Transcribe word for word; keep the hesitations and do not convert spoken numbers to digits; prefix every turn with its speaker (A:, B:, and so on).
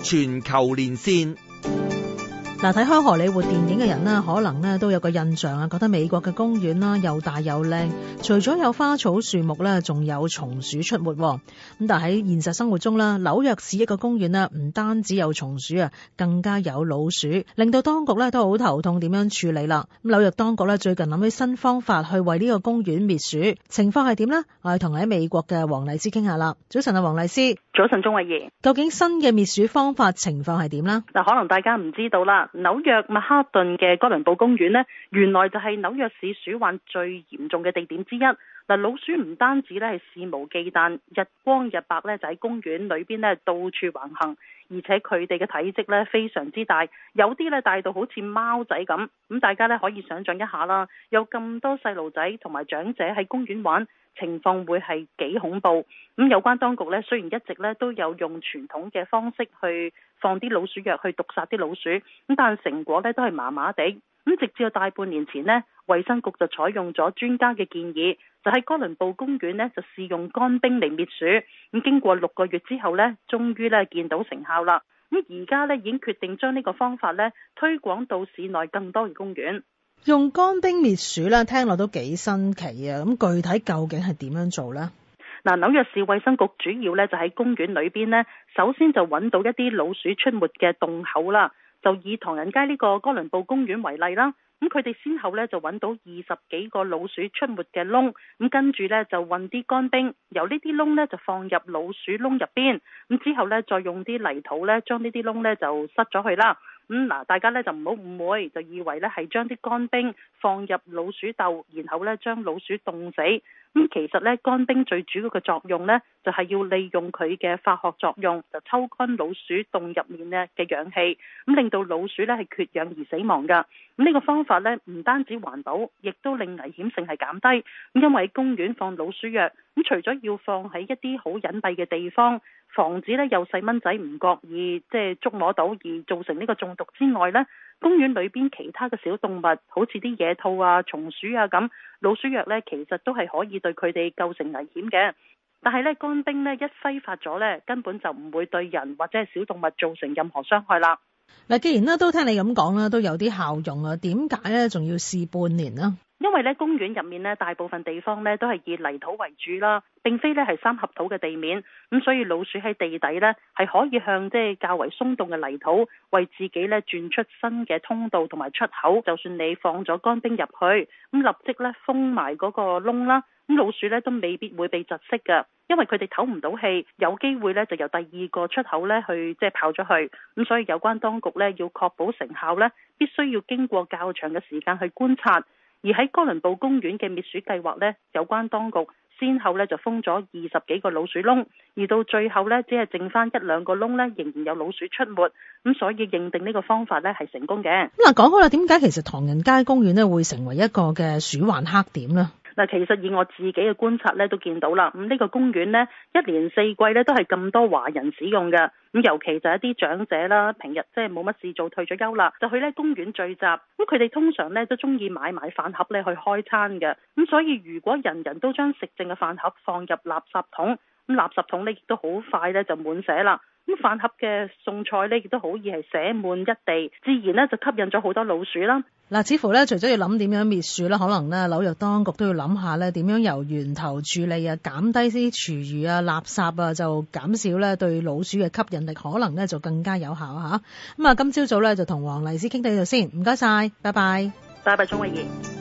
A: 全球連線。
B: 嗱，睇開荷里活電影嘅人呢，可能呢都有個印象啊，覺得美國嘅公園啦又大又靚，除咗有花草樹木咧，仲有松鼠出沒。咁但係喺現實生活中啦，紐約市一個公園呢，唔單止有松鼠啊，更加有老鼠，令到當局咧都好頭痛點樣處理啦。咁紐約當局咧最近諗起新方法去為呢個公園滅鼠，情況係點呢？我哋同喺美國嘅黃麗施傾下啦。早晨啊，黃麗施。
C: 早晨，鍾慧儀。
B: 究竟新嘅滅鼠方法情況係點呢？
C: 嗱，可能大家唔知道啦。紐約曼哈頓嘅哥倫布公園呢，原來就係紐約市鼠患最嚴重嘅地點之一。嗱，老鼠唔單止咧係肆無忌憚，日光日白咧就喺公園裏邊咧到處橫行，而且佢哋嘅體積咧非常之大，有啲咧大到好似貓仔咁。咁大家咧可以想象一下啦，有咁多細路仔同埋長者喺公園玩，情況會係幾恐怖。咁有關當局咧雖然一直咧都有用傳統嘅方式去放啲老鼠藥去毒殺啲老鼠，咁但係成果咧都係麻麻地。咁直至到大半年前呢，衛生局就採用咗專家嘅建議，就喺哥倫布公園呢就試用乾冰嚟滅鼠。咁經過六個月之後呢，終於呢見到成效啦。咁而家呢已經決定將呢個方法呢推廣到市內更多嘅公園。
B: 用乾冰滅鼠呢，聽落都幾新奇啊！咁具體究竟係點樣做呢？
C: 嗱，紐約市衛生局主要呢就喺公園裏邊呢，首先就揾到一啲老鼠出沒嘅洞口啦。就以唐人街呢個哥倫布公園為例啦，咁佢哋先後呢就揾到二十幾個老鼠出沒嘅窿，咁跟住呢就運啲乾冰，由呢啲窿呢就放入老鼠窿入邊，咁之後呢再用啲泥土呢將呢啲窿呢就塞咗去啦。咁嗱，大家呢就唔好誤會，就以為呢係將啲乾冰放入老鼠竇，然後呢將老鼠凍死。咁其實呢，乾冰最主要嘅作用呢，就係要利用佢嘅化學作用，就抽乾老鼠洞入面呢嘅氧氣，咁令到老鼠呢係缺氧而死亡噶。咁呢個方法呢，唔單止環保，亦都令危險性係減低。咁因為喺公園放老鼠藥，咁除咗要放喺一啲好隱蔽嘅地方，防止呢有細蚊仔唔覺意即係捉摸到而造成呢個中毒之外呢，公園裏邊其他嘅小動物，好似啲野兔啊、松鼠啊咁，老鼠藥呢其實都係可以對佢哋構成危險嘅。但係呢，乾冰呢一揮發咗呢，根本就唔會對人或者係小動物造成任何傷害啦。
B: 嗱，既然呢都聽你咁講啦，都有啲效用啊，點解呢仲要試半年呢？
C: 因為咧公園入面咧大部分地方咧都係以泥土為主啦，並非咧係三合土嘅地面，咁所以老鼠喺地底咧係可以向即係較為鬆動嘅泥土為自己咧鑽出新嘅通道同埋出口。就算你放咗乾冰入去，咁立即咧封埋嗰個窿啦，咁老鼠咧都未必會被窒息㗎，因為佢哋唞唔到氣，有機會咧就由第二個出口咧去即係跑咗去。咁所以有關當局咧要確保成效咧，必須要經過較長嘅時間去觀察。而喺哥倫布公園嘅滅鼠計劃呢，有關當局先後呢就封咗二十幾個老鼠窿，而到最後呢，只係剩翻一兩個窿呢，仍然有老鼠出沒，咁所以認定呢個方法呢係成功嘅。
B: 咁嗱，講好啦，點解其實唐人街公園呢會成為一個嘅鼠患黑點呢？
C: 嗱，其實以我自己嘅觀察咧，都見到啦。咁呢個公園呢，一年四季咧都係咁多華人使用嘅。咁尤其就係一啲長者啦，平日即係冇乜事做，退咗休啦，就去呢公園聚集。咁佢哋通常咧都中意買埋飯盒咧去開餐嘅。咁所以如果人人都將食剩嘅飯盒放入垃圾桶，咁垃圾桶咧亦都好快咧就滿瀉啦。咁飯盒嘅餸菜咧亦都好易係寫滿一地，自然咧就吸引咗好多老鼠啦。
B: 嗱，似乎咧除咗要諗點樣滅鼠啦，可能咧紐約當局都要諗下咧點樣由源頭處理啊，減低啲廚餘啊、垃圾啊，就減少咧對老鼠嘅吸引力，可能咧就更加有效吓。咁啊，今朝早咧就同黃麗施傾到呢度先，唔該晒，拜拜，
C: 拜拜，鍾慧儀。